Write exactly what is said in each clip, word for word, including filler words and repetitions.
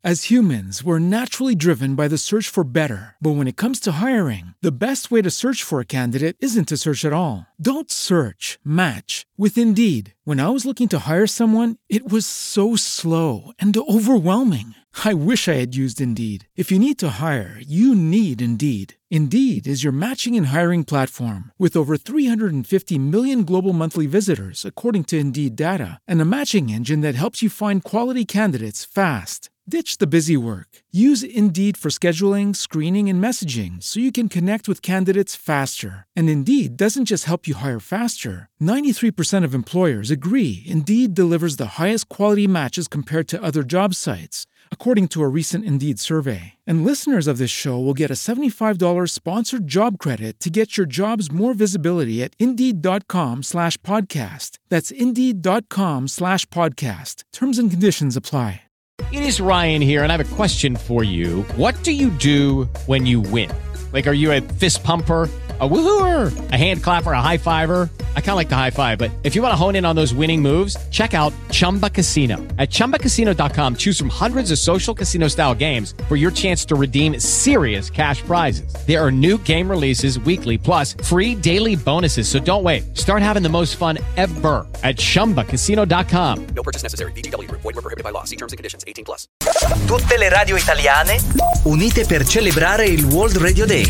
As humans, we're naturally driven by the search for better. But when it comes to hiring, the best way to search for a candidate isn't to search at all. Don't search, match with Indeed. When I was looking to hire someone, it was so slow and overwhelming. I wish I had used Indeed. If you need to hire, you need Indeed. Indeed is your matching and hiring platform with over three hundred fifty million global monthly visitors, according to Indeed data, and a matching engine that helps you find quality candidates fast. Ditch the busy work. Use Indeed for scheduling, screening, and messaging so you can connect with candidates faster. And Indeed doesn't just help you hire faster. ninety-three percent of employers agree Indeed delivers the highest quality matches compared to other job sites, according to a recent Indeed survey. And listeners of this show will get a seventy-five dollars sponsored job credit to get your jobs more visibility at Indeed.com slash podcast. That's Indeed.com slash podcast. Terms and conditions apply. It is Ryan here, and I have a question for you. What do you do when you win? Like, are you a fist pumper, a woohooer, a hand clapper, a high fiver? I kind of like the high five, but if you want to hone in on those winning moves, check out Chumba Casino. At Chumba Casino dot com, choose from hundreds of social casino-style games for your chance to redeem serious cash prizes. There are new game releases weekly, plus free daily bonuses, so don't wait. Start having the most fun ever at Chumba Casino dot com. No purchase necessary. V G W. Void where prohibited by law. See terms and conditions. eighteen plus. Tutte le radio italiane unite per celebrare il World Radio Day.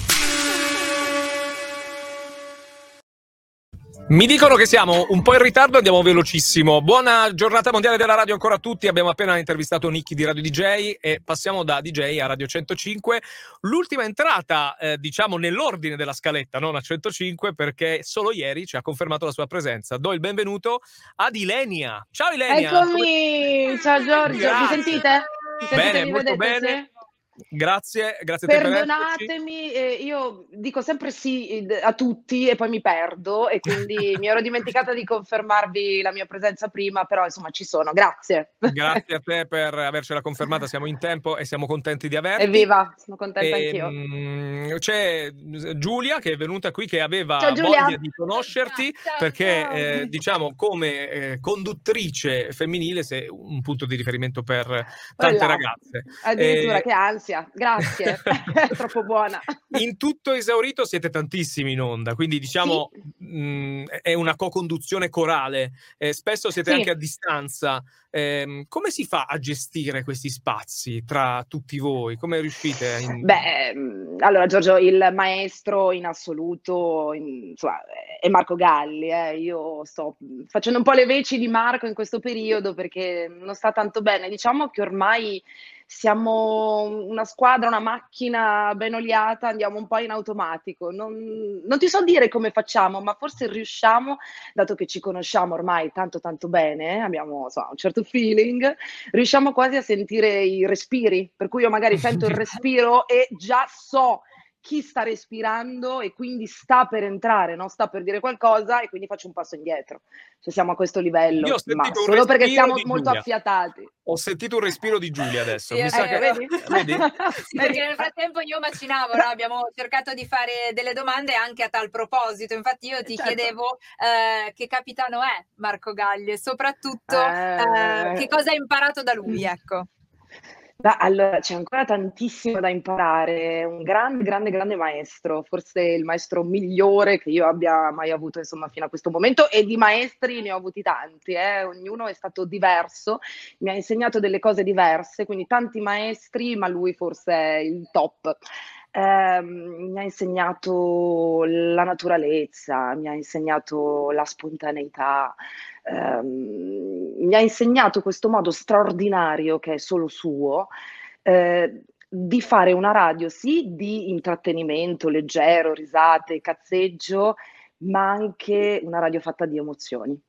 Mi dicono che siamo un po' in ritardo, andiamo velocissimo. Buona giornata mondiale della radio ancora a tutti. Abbiamo appena intervistato Nicky di Radio D J e passiamo da D J a Radio centocinque. L'ultima entrata, eh, diciamo, nell'ordine della scaletta, non a centocinque, perché solo ieri ci ha confermato la sua presenza. Do il benvenuto ad Ilenia. Ciao Ilenia! Eccomi! Come... Ciao Giorgio, Grazie. mi sentite? Mi sentite? Bene, mi molto vedete, bene. sì? Grazie, grazie a te per Perdonatemi, eh, io dico sempre sì a tutti e poi mi perdo e quindi mi ero dimenticata di confermarvi la mia presenza prima, però insomma ci sono, grazie. Grazie a te per avercela confermata, siamo in tempo e siamo contenti di averti. Evviva, sono contenta E, anch'io. mh, c'è Giulia che è venuta qui, che aveva Ciao, Giulia. voglia di conoscerti, Ciao, perché ciao. eh, diciamo come eh, conduttrice femminile sei un punto di riferimento per tante Voilà. ragazze. Addirittura, Eh, che ansia, grazie, è troppo buona. In tutto esaurito siete tantissimi in onda, quindi diciamo Sì. mh, è una co-conduzione corale, eh, spesso siete Sì. anche a distanza. Eh, come si fa a gestire questi spazi tra tutti voi? Come riuscite? A in... Beh, mh, allora Giorgio, il maestro in assoluto in- insomma, è Marco Galli. eh. Io sto mh, facendo un po' le veci di Marco in questo periodo perché non sta tanto bene. Diciamo che ormai siamo una squadra, una macchina ben oliata, andiamo un po' in automatico. Non, non ti so dire come facciamo, ma forse riusciamo, dato che ci conosciamo ormai tanto tanto bene, abbiamo insomma, un certo feeling, riusciamo quasi a sentire i respiri, per cui io magari sento il respiro e già so chi sta respirando e quindi sta per entrare, no? Sta per dire qualcosa e quindi faccio un passo indietro. Cioè siamo a questo livello, Io ho ma sentito un solo perché respiro siamo di molto Giulia. affiatati. Ho sentito un respiro di Giulia adesso. Sì, Mi sa eh, che... Vedi? Vedi? Sì, perché nel frattempo io macinavo, no? Abbiamo cercato di fare delle domande anche a tal proposito. Infatti io ti Certo. chiedevo eh, che capitano è Marco Galli e soprattutto Eh. eh, che cosa hai imparato da lui, ecco. Beh, allora, c'è ancora tantissimo da imparare, è un grande, grande, grande maestro, forse il maestro migliore che io abbia mai avuto, insomma, fino a questo momento, e di maestri ne ho avuti tanti, eh, ognuno è stato diverso, mi ha insegnato delle cose diverse, quindi tanti maestri, ma lui forse è il top. Eh, mi ha insegnato la naturalezza, mi ha insegnato la spontaneità, ehm, mi ha insegnato questo modo straordinario che è solo suo, eh, di fare una radio, sì, di intrattenimento leggero, risate, cazzeggio, ma anche una radio fatta di emozioni.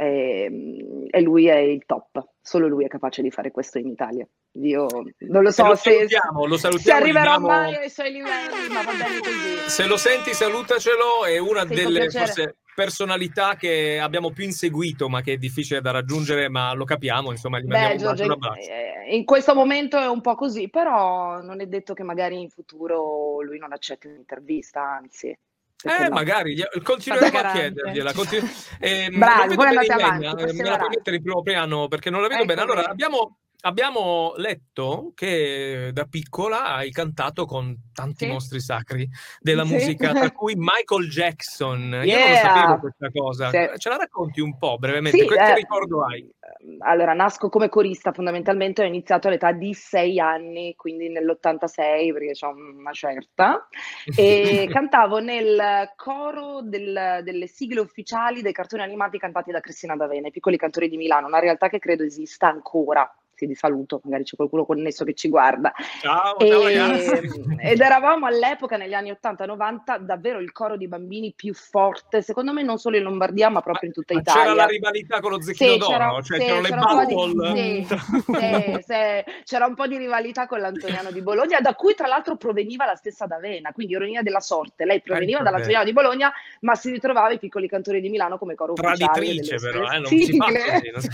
E, e lui è il top, solo lui è capace di fare questo in Italia. Io non lo so lo se, salutiamo, lo se salutiamo, arriverò gli diamo- mai ai suoi livelli, ma va bene così. Se lo senti, salutacelo. È una Sì, con delle piacere. forse personalità che abbiamo più inseguito, ma che è difficile da raggiungere, ma lo capiamo, insomma, gli mandiamo Beh, un bacio e Giorgio, un in, abbraccio. eh, in questo momento è un po' così, però non è detto che magari in futuro lui non accetti un'intervista, anzi. perché Eh, no? magari, gli- continueremo a Garante. chiedergliela. Continu- ehm, Bravi, non vedo voi bene andate Ilenia, avanti, eh, me la perseverate. puoi mettere in primo piano perché non la vedo bene. Ecco Allora, bene. abbiamo abbiamo letto che da piccola hai cantato con tanti Sì. mostri sacri della Sì. musica, tra cui Michael Jackson. Io non lo Yeah. sapevo questa cosa. Sì. Ce la racconti un po' brevemente? Sì, che, che eh, ricordo hai? allora nasco come corista, fondamentalmente ho iniziato all'età di sei anni, quindi nell'ottantasei, perché c'ho una certa, e cantavo nel coro del- delle sigle ufficiali dei cartoni animati cantati da Cristina D'Avena, i Piccoli Cantori di Milano, una realtà che credo esista ancora. Sì, di saluto, magari c'è qualcuno connesso che ci guarda. Ciao, ciao E, ragazzi. ed eravamo all'epoca, negli anni ottanta novanta, davvero il coro di bambini più forte, secondo me non solo in Lombardia, ma proprio in tutta Ma Italia. c'era la rivalità con lo Zecchino Sì, d'Oro? c'era, Cioè, sì, c'erano le c'era un po' di, battle? sì, sì, sì, c'era un po' di rivalità con l'Antoniano di Bologna, da cui tra l'altro proveniva la stessa D'Avena, quindi ironia della sorte. Lei proveniva Ecco, dall'Antoniano di Bologna, ma si ritrovava i Piccoli Cantori di Milano come coro ufficiale delle Traditrice però, sue eh, non si fa sigle. così. Non si...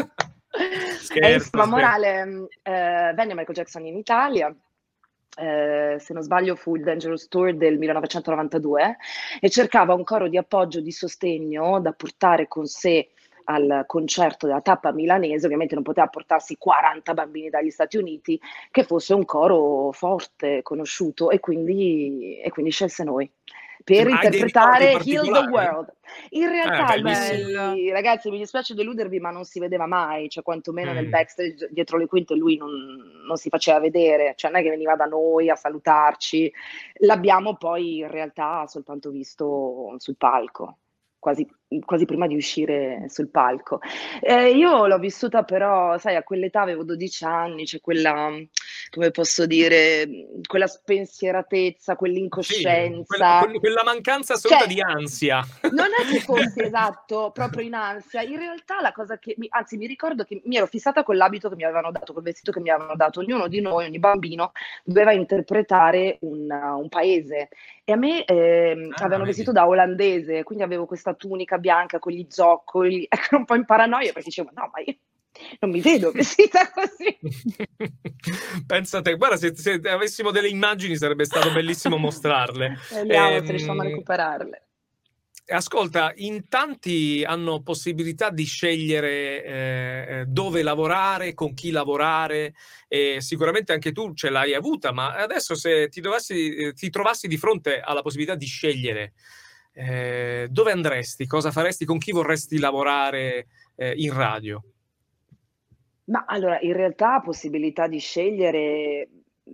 E Scherzo, insomma, scherzo. morale, eh, venne Michael Jackson in Italia, eh, se non sbaglio fu il Dangerous Tour del millenovecentonovantadue, e cercava un coro di appoggio, di sostegno da portare con sé al concerto della tappa milanese. Ovviamente non poteva portarsi quaranta bambini dagli Stati Uniti, che fosse un coro forte, conosciuto, e quindi, e quindi scelse noi per Sì, ma hai dei interpretare ricordi Heal the particolari? World. In realtà, Eh, bellissimo. lui, ragazzi, mi dispiace deludervi, ma non si vedeva mai, cioè quantomeno nel Mm. backstage dietro le quinte lui non, non si faceva vedere, cioè non è che veniva da noi a salutarci, l'abbiamo poi in realtà soltanto visto sul palco. Quasi, quasi prima di uscire sul palco. Eh, io l'ho vissuta però, sai, a quell'età avevo dodici anni, c'è quella, come posso dire, quella spensieratezza, Sì, quell'incoscienza. quella, quel- quella mancanza assoluta Cioè, di ansia. non è che fossi esatto, proprio in ansia. In realtà la cosa che, mi, anzi mi ricordo che mi ero fissata con l'abito che mi avevano dato, col vestito che mi avevano dato. Ognuno di noi, ogni bambino, doveva interpretare un, un paese. E a me ehm, Ah, avevano vedi. vestito da olandese, quindi avevo questa tunica bianca con gli zoccoli, ecco, un po' in paranoia, perché dicevo, no, ma io non mi vedo vestita così. Pensate, guarda, se, se avessimo delle immagini sarebbe stato bellissimo mostrarle. Vediamo Ehm, se riusciamo a recuperarle. Ascolta, in tanti hanno possibilità di scegliere eh, dove lavorare, con chi lavorare, e sicuramente anche tu ce l'hai avuta, ma adesso se ti, dovessi, eh, ti trovassi di fronte alla possibilità di scegliere, eh, dove andresti, cosa faresti, con chi vorresti lavorare eh, in radio? Ma allora, in realtà possibilità di scegliere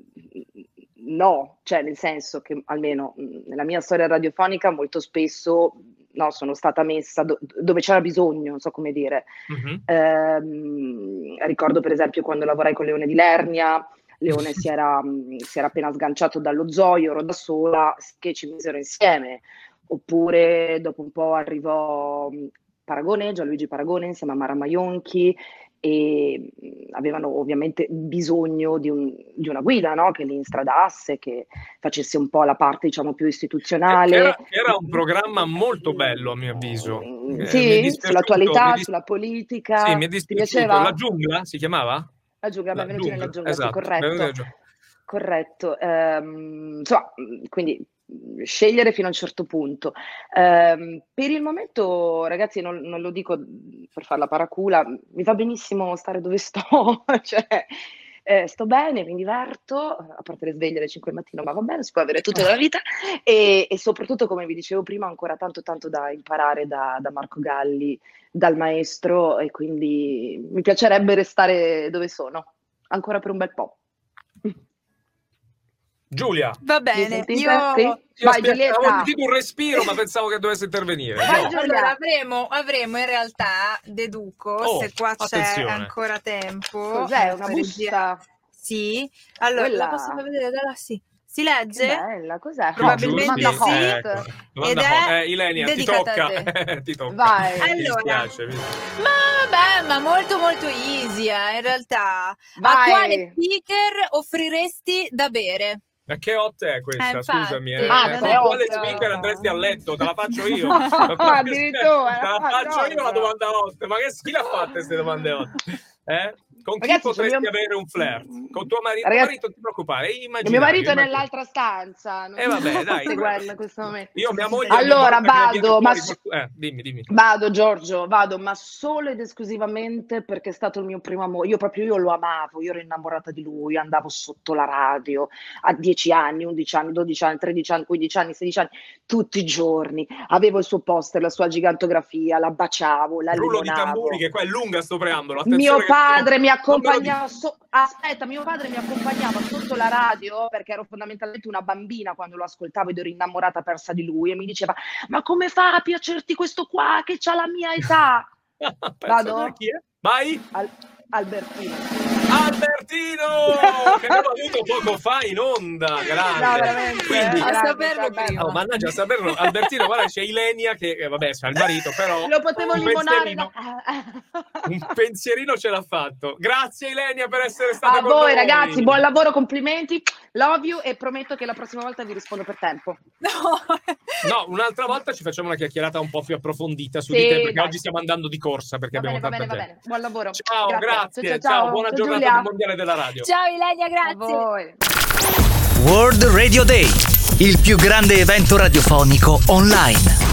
no, cioè nel senso che almeno mh, nella mia storia radiofonica molto spesso no, sono stata messa do- dove c'era bisogno, non so come dire. Mhm. Ehm, ricordo per esempio quando lavorai con Leone di Lernia, Leone si era, mh, si era appena sganciato dallo zoo, io ero da sola, che ci misero insieme. Oppure dopo un po' arrivò mh, Paragone, Gianluigi Paragone insieme a Mara Maionchi, e mh, avevano ovviamente bisogno di, un- di una guida, no? Che li instradasse, che facesse un po' la parte, diciamo, più Che, istituzionale. che era, che era un programma molto bello, a mio avviso. Mm, Eh, mi è sì, dispiaciuto, sull'attualità, mi dis- sulla sì, politica. mi è Ti dispiaciuto. piaceva? La giungla si chiamava? La giungla, La benvenuti nella giungla, giungla, sì, esatto. Benvenuti nella corretto. giungla. Corretto. Ehm, insomma, mh, quindi mh, scegliere fino a un certo punto. Ehm, per il momento, ragazzi, non, non lo dico mh, per fare la paracula, mi va benissimo stare dove sto, cioè eh, sto bene, mi diverto, a parte le sveglie alle cinque del mattino, ma va bene, si può avere tutto nella vita, e, e soprattutto, come vi dicevo prima, ho ancora tanto tanto da imparare da, da Marco Galli, dal maestro, e quindi mi piacerebbe restare dove sono, ancora per un bel po'. Giulia, Va Mi bene, sentite? io... Sì? io Vai aspetta, Giulietta! avevo sentito un respiro, ma pensavo che dovesse intervenire. Vai, No. Giulia. Allora avremo, avremo in realtà, deduco, Oh, se qua c'è attenzione. ancora tempo. Cos'è, eh, una fa regia- busta? Sì, allora la Quella. posso far vedere da là? Sì. Si Che legge? bella, cos'è? Probabilmente Hot, domanda sì. hot. Ecco. Domanda Ed è hot. Eh, Ilenia, ti dedicata a tocca. te. ti tocca. Vai. Mi Allora, dispiace. mi- ma vabbè, ma molto molto easy, eh, in realtà. A Vai. quale speaker offriresti da bere? Ma che hot è questa? Eh, infatti. Scusami. Eh. Ah, Eh, non è con quale hot. speaker andresti a letto? Te la faccio io. Addirittura, Te la ma faccio io la cosa? domanda hot. Ma che chi l'ha fatta queste domande hot? Eh? Con chi Ragazzi, potresti mio... avere un flirt? Con tuo marito? Ragazzi... marito, non ti preoccupare, il mio marito è nell'altra stanza. E eh, vabbè, dai. Seguendo in questo momento. Io mia moglie allora vado, ma so... eh, dimmi, dimmi. Vado Giorgio, vado, ma solo ed esclusivamente perché è stato il mio primo amore. Io proprio io lo amavo, io ero innamorata di lui, andavo sotto la radio a dieci anni, undici anni, dodici anni, tredici anni, quindici anni, sedici anni, tutti i giorni. Avevo il suo poster, la sua gigantografia, la baciavo, la Rullo di limonavo. tamburi, che qua è lunga sto preambolo. Mio padre che... mi accompagnava, so... aspetta, mio padre mi accompagnava sotto la radio perché ero fondamentalmente una bambina quando lo ascoltavo ed ero innamorata persa di lui e mi diceva: ma come fa a piacerti questo qua che c'ha la mia età? Vado? Chi è? Vai! Al- Albertino. Albertino! Che abbiamo avuto poco fa in onda, grande. No, veramente. Quindi, a saperlo prima. Oh, mannaggia, a saperlo. Albertino, guarda, c'è Ilenia che, eh, vabbè, c'ha il marito, però... Lo potevo un limonare. pensierino, Da... un pensierino ce l'ha fatto. Grazie Ilenia per essere stata a con voi noi. ragazzi, buon lavoro, complimenti, love you e prometto che la prossima volta vi rispondo per tempo. No, no un'altra volta ci facciamo una chiacchierata un po' più approfondita su sì, di te, perché dai. oggi stiamo andando di corsa perché Va abbiamo bene, tanta va bene, gente. va bene. Buon lavoro. Ciao, grazie. Grazie. Ciao, Ciao, ciao. buona Ciao, giornata Giulia. del Mondiale della Radio. ciao Ilenia, A grazie. voi. World Radio Day, il più grande evento radiofonico online.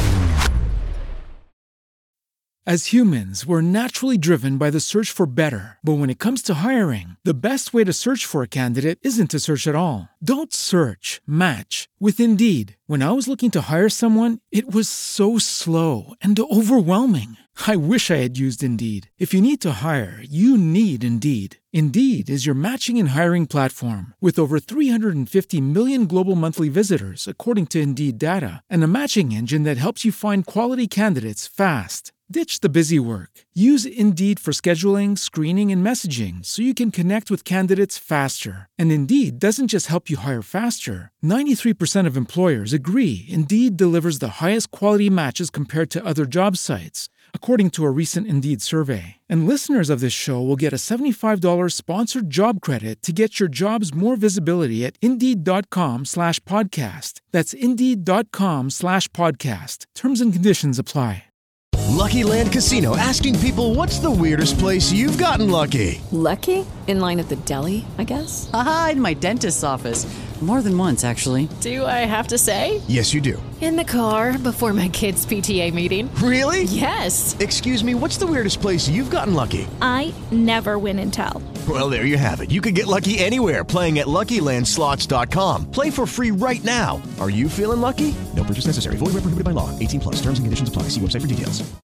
As humans, we're naturally driven by the search for better. But when it comes to hiring, the best way to search for a candidate isn't to search at all. Don't search, match with Indeed. When I was looking to hire someone, it was so slow and overwhelming. I wish I had used Indeed. If you need to hire, you need Indeed. Indeed is your matching and hiring platform with over three hundred fifty million global monthly visitors, according to Indeed data, and a matching engine that helps you find quality candidates fast. Ditch the busy work. Use Indeed for scheduling, screening, and messaging so you can connect with candidates faster. And Indeed doesn't just help you hire faster. ninety-three percent of employers agree Indeed delivers the highest quality matches compared to other job sites, according to a recent Indeed survey. And listeners of this show will get a seventy-five dollars sponsored job credit to get your jobs more visibility at Indeed.com slash podcast. That's Indeed.com slash podcast. Terms and conditions apply. Lucky Land Casino, asking people, what's the weirdest place you've gotten lucky? Lucky? In line at the deli, I guess? Aha, in my dentist's office. More than once, actually. Do I have to say? Yes, you do. In the car before my kids' P T A meeting. Really? Yes. Excuse me, what's the weirdest place you've gotten lucky? I never win and tell. Well, there you have it. You can get lucky anywhere, playing at Lucky Land Slots dot com. Play for free right now. Are you feeling lucky? No purchase necessary. Void where prohibited by law. eighteen plus. Terms and conditions apply. See website for details.